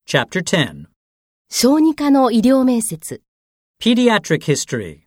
Chapter 10. 小児科の医療面接。 Pediatric History.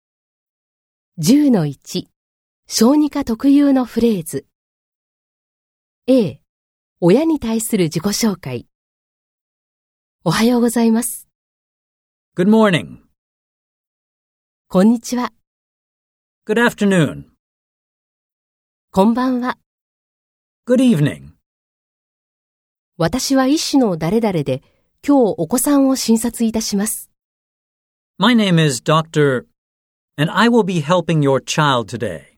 10-1。小児科特有のフレーズ。A、親に対する自己紹介。おはようございます。 Good morning. こんにちは。 Good afternoon. こんばんは。 Good evening. 私は医師の誰々で、今日お子さんを診察いたします。 My name is Dr. and I will be helping your child today.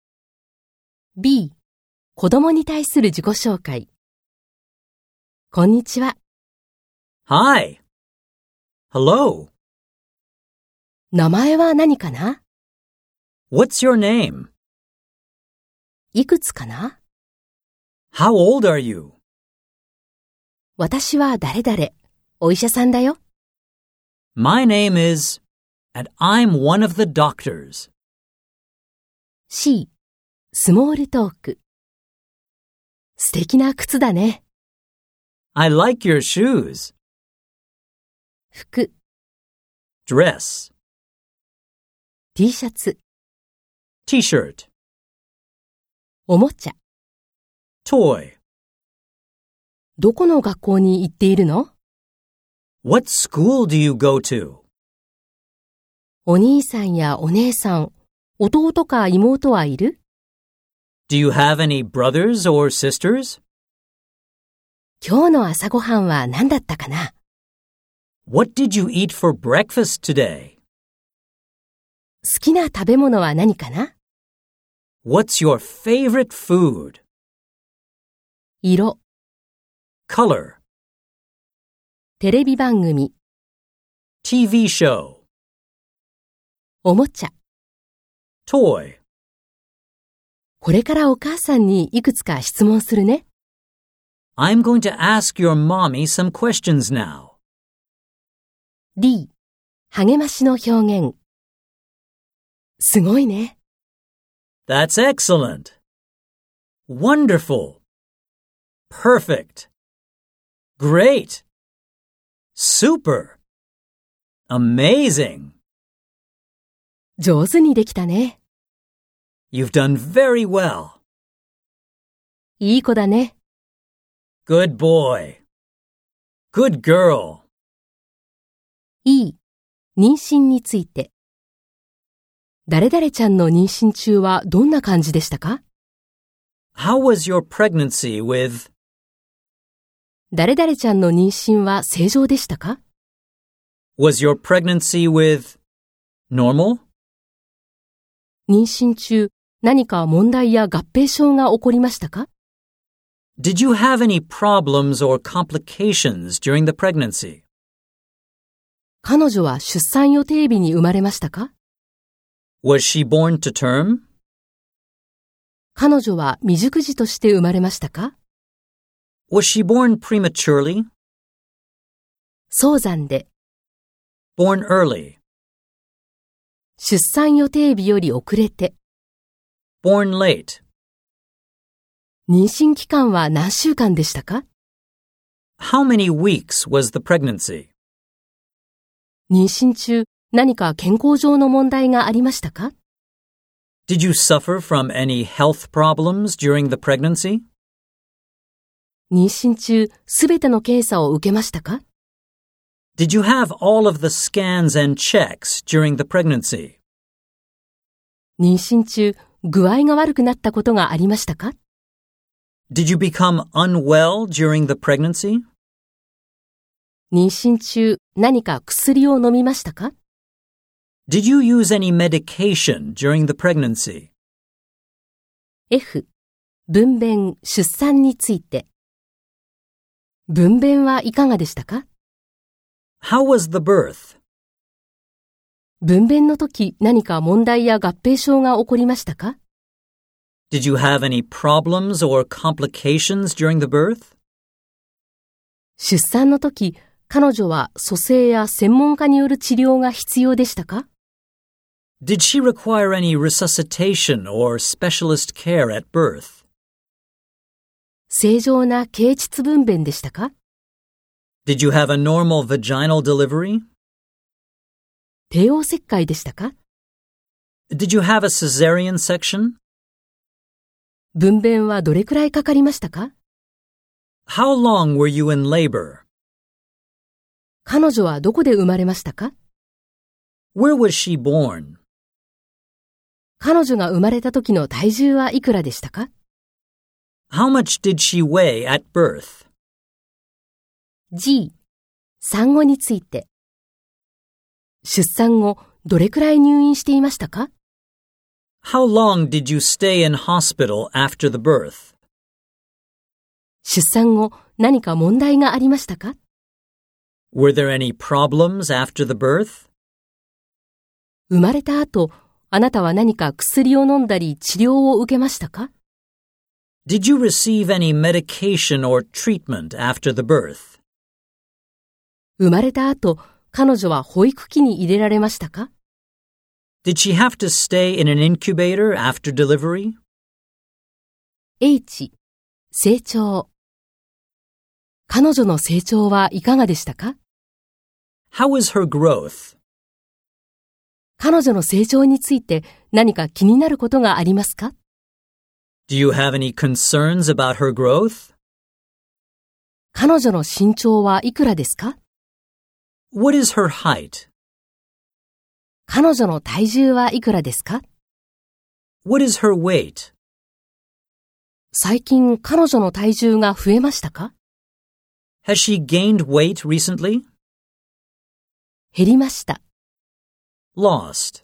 B、子供に対する自己紹介。こんにちは。 Hi. Hello. 名前は何かな？ What's your name? いくつかな？ How old are you? 私は誰々、お医者さんだよ。 My name is, and I'm one of the doctors. C、スモールトーク。素敵な靴だね。 I like your shoes. 服、 Dress. T シャツ、 T-shirt. おもちゃ。 Toy. どこの学校に行っているの？ What school do you go to? お兄さんやお姉さん、弟か妹はいる？ Do you have any brothers or sisters? 今日の朝ごはんは何だったかな？ What did you eat for breakfast today? 好きな食べ物は何かな？ What's your favorite food? 色、 Color. テレビ番組、 TV show. おもちゃ。 Toy. これからお母さんにいくつか質問するね。 I'm going to ask your mommy some questions now. D、励ましの表現。すごいね。 That's excellent. Wonderful. Perfect. Great. Super. Amazing. 上手にできたね。 You've done very well. いい子だね。 Good boy. Good girl. E、妊娠について。誰々ちゃんの妊娠中はどんな感じでしたか？ How was your pregnancy with... 誰々ちゃんの妊娠は正常でしたか？ Was your pregnancy with... normal? 妊娠中、何か問題や合併症が起こりましたか？ Did you have any problems or complications during the pregnancy? 彼女は出産予定日に生まれましたか？ Was she born to term? 彼女は未熟児として生まれましたか？ Was she born prematurely? 早産で、 Born early? 出産予定日より遅れて、 Born late? 妊娠期間は何週間でしたか？ How many weeks was the pregnancy? 妊娠中、何か健康上の問題がありましたか？ Did you suffer from any health problems during the pregnancy? 妊娠中、すべての検査を受けましたか？ Did you have all of the scans and checks during the pregnancy? 妊娠中、具合が悪くなったことがありましたか？ Did you become unwell during the pregnancy? 妊娠中、何か薬を飲みましたか？ Did you use any medication during the pregnancy? F、分娩・出産について。分娩はいかがでしたか？ How was the birth? 分娩の時、何か問題や合併症が起こりましたか？ Did you have any problems or complications during the birth? 出産の時、彼女は蘇生や専門家による治療が必要でしたか？ Did she require any resuscitation or specialist care at birth? 正常な経腟分娩でしたか？ Did you have a normal vaginal delivery? 帝王切開でしたか？ Did you have a cesarean section? 分娩はどれくらいかかりましたか？ How long were you in labor? 彼女はどこで生まれましたか？ Where was she born? 彼女が生まれた時の体重はいくらでしたか？ How much did she weigh at birth? G、産後について。出産後、どれくらい入院していましたか？ How long did you stay in hospital after the birth? 出産後、何か問題がありましたか？ Were there any problems after the birth? 生まれた後、あなたは何か薬を飲んだり治療を受けましたか？ Did you receive any medication or treatment after the birth? 生まれた後、彼女は保育器に入れられましたか？ Did she have to stay in an incubator after delivery? H、成長。彼女の成長はいかがでしたか？ How was her growth? 彼女の成長について何か気になることがありますか？ Do you have any concerns about her growth? 彼女の身長はいくらですか？ What is her height? 彼女の体重はいくらですか？ What is her weight? 最近彼女の体重が増えましたか？ Has she gained weight recently? 減りました。 Lost.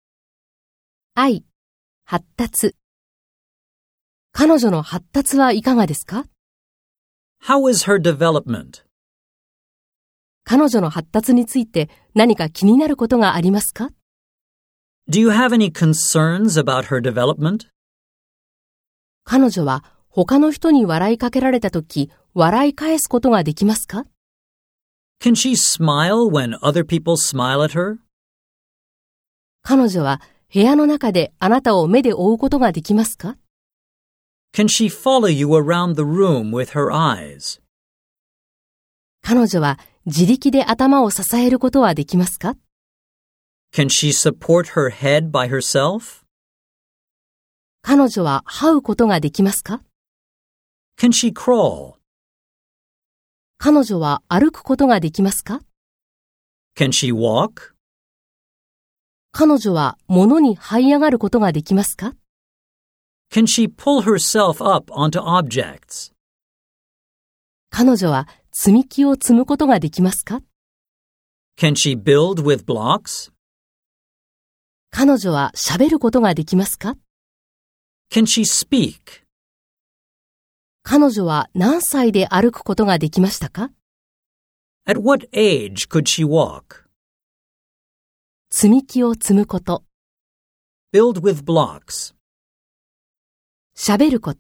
I、発達。彼女の発達はいかがですか？ How is her development? 彼女の発達について何か気になることがありますか？ Do you have any concerns about her development? 彼女は他の人に笑いかけられたとき、笑い返すことができますか？ Can she smile when other people smile at her? 彼女は部屋の中であなたを目で追うことができますか？ Can she follow you around the room with her eyes? 彼女は自力で頭を支えることはできますか？ Can she support her head by herself? 彼女は這うことができますか？ Can she crawl? 彼女は歩くことができますか？ Can she walk? 彼女は物に這い上がることができますか？ Can she pull herself up onto objects? 彼女は積み木を積むことができますか？ Can she build with blocks? 彼女は喋ることができますか？ Can she speak? 彼女は何歳で歩くことができましたか？ At what age could she walk? 積み木を積むこと。 Build with blocks. 喋ること。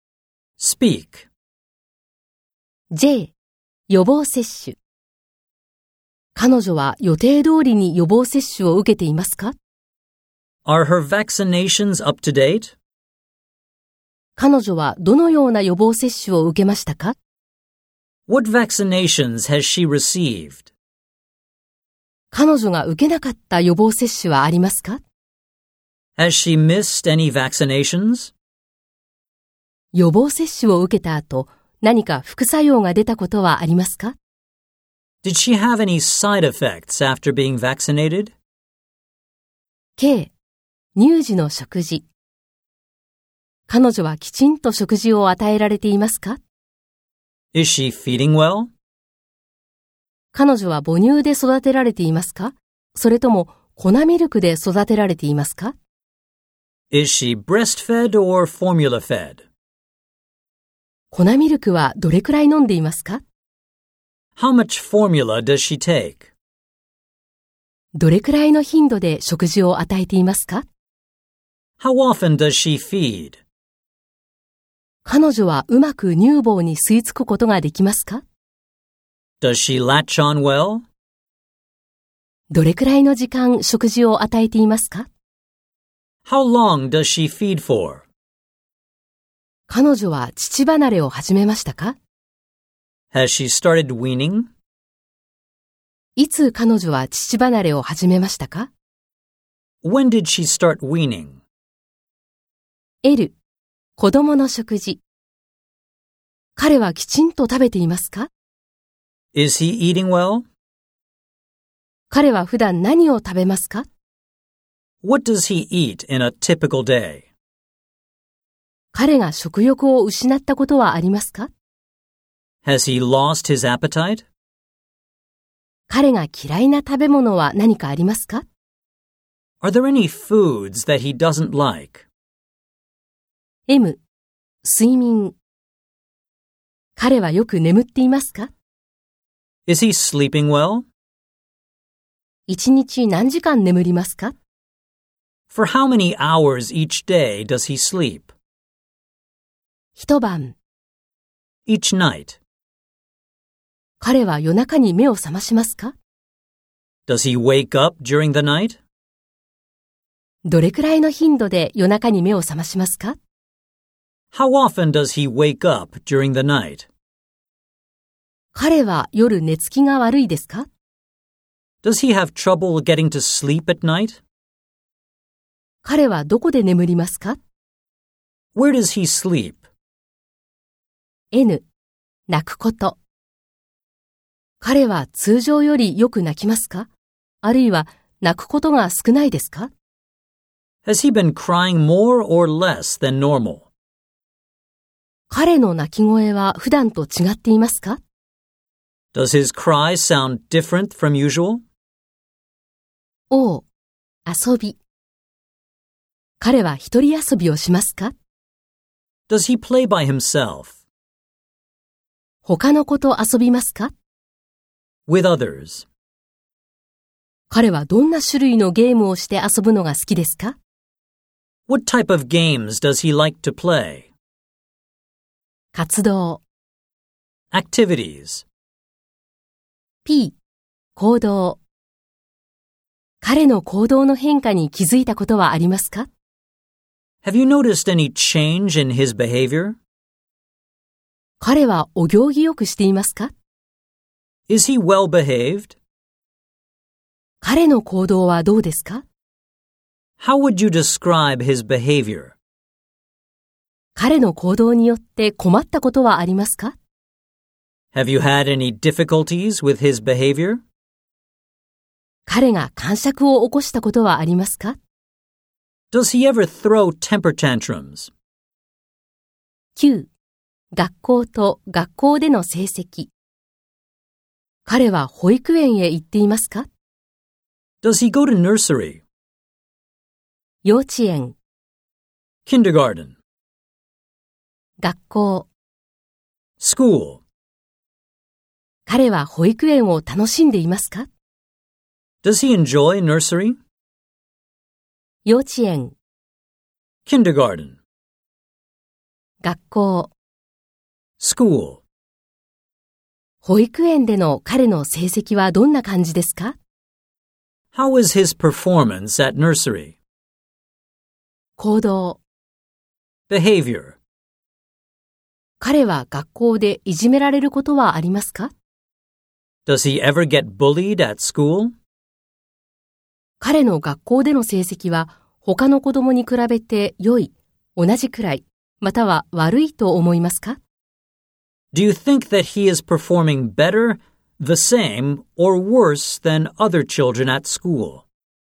Speak. J、予防接種。彼女は予定通りに予防接種を受けていますか？ Are her vaccinations up to date? 彼女はどのような予防接種を受けましたか？ What vaccinations has she received? 彼女が受けなかった予防接種はありますか？ Has she missed any vaccinations? 予防接種を受けた後、何か副作用が出たことはありますか？ Did she have any side effects after being vaccinated? K、乳児の食事。彼女はきちんと食事を与えられていますか？ Is she feeding well? 彼女は母乳で育てられていますか？それとも粉ミルクで育てられていますか？ Is she breastfed or formula fed? 粉ミルクはどれくらい飲んでいますか？ How much formula does she take? どれくらいの頻度で食事を与えていますか？ How often does she feed? 彼女はうまく乳房に吸い付くことができますか？ Does she latch on well? どれくらいの時間食事を与えていますか？ How long does she feed for? 彼女は乳離れを始めましたか？ Has she started weaning? いつ彼女は乳離れを始めましたか？ When did she start weaning? L、子供の食事。彼はきちんと食べていますか？ Is he eating well? 彼は普段何を食べますか？ What does he eat in a typical day? 彼が食欲を失ったことはありますか？ Has he lost his appetite? 彼が嫌いな食べ物は何かありますか？ Are there any foods that he doesn't like? M、睡眠。彼はよく眠っていますか？ Is he sleeping well? 一日何時間眠りますか？ For how many hours each day does he sleep? 一晩。 Each night. 彼は夜中に目を覚ましますか？ Does he wake up during the night? どれくらいの頻度で夜中に目を覚ましますか？ How often does he wake up during the night? 彼は夜寝つきが悪いですか？ Does he have trouble getting to sleep at night? 彼はどこで眠りますか？ Where does he sleep? N、泣くこと。彼は通常よりよく泣きますか？あるいは泣くことが少ないですか？ Has he been crying more or less than normal? 彼の泣き声は普段と違っていますか？ Does his cry sound different from usual? O、遊び。彼は一人遊びをしますか？ Does he play by himself? 他の子と遊びますか？ With others? 彼はどんな種類のゲームをして遊ぶのが好きですか？ What type of games does he like to play? 活動。 Activities. P、行動。彼の行動の変化に気づいたことはありますか？ Have you noticed any change in his behavior? 彼はお行儀よくしていますか？ Is he well behaved? 彼の行動はどうですか？ How would you describe his behavior? 彼の行動によって困ったことはありますか？ Have you had any difficulties with his behavior? 彼が癇癪を起こしたことはありますか？ Does he ever throw temper tantrums? Q、学校と学校での成績。彼は保育園へ行っていますか？ Does he go to nursery? 幼稚園、 Kindergarten? 学校。 School? 彼は保育園を楽しんでいますか？ Does he enjoy nursery? 幼稚園、 Kindergarten? 学校。 School? 保育園での彼の成績はどんな感じですか？ How is his performance at nursery? 行動。 Behavior? 彼は学校でいじめられることはありますか？ Does he ever get bullied at school? 彼の学校での成績は他の子供に比べて良い、同じくらい、または悪いと思いますか？ Do you think that he is performing better, the same, or worse than other children at school?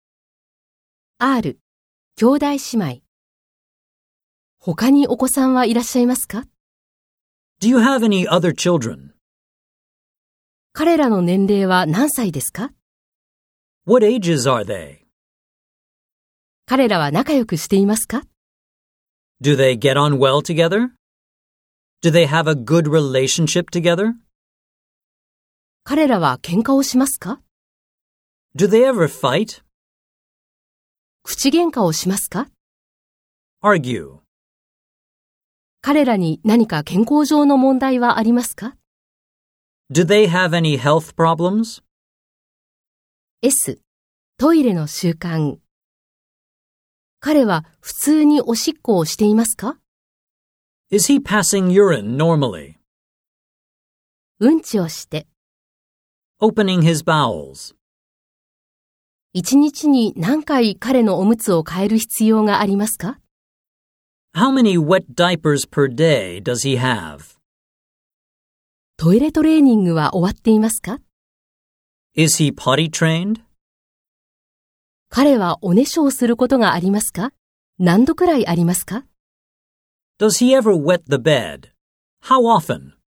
R、兄弟姉妹。他にお子さんはいらっしゃいますか？ Do you have any other children? 彼らの年齢は何歳ですか？ What ages are they? 彼らは仲良くしていますか？ Do they get on well together? Do they have a good relationship together? 彼らは喧嘩をしますか？ Do they ever fight? 口喧嘩をしますか？ Argue? 彼らに何か健康上の問題はありますか？ Do they have any health problems? S、トイレの習慣。彼は普通におしっこをしていますか？ Is he passing urine normally? うんちをして。 Opening his bowels. 一日に何回彼のおむつを変える必要がありますか？ How many wet diapers per day does he have? トイレトレーニングは終わっていますか？ Is he potty trained? 彼はおねしょをすることがありますか？何度くらいありますか？ Does he ever wet the bed? How often?